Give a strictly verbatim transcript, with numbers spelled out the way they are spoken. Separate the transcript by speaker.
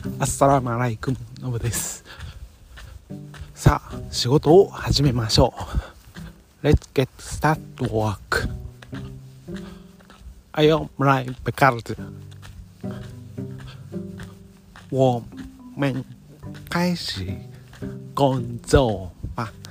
Speaker 1: アッサラムアライクムノブです。さあ仕事を始めましょう。 Let's get start to work. I am right because 我们开始工作吧。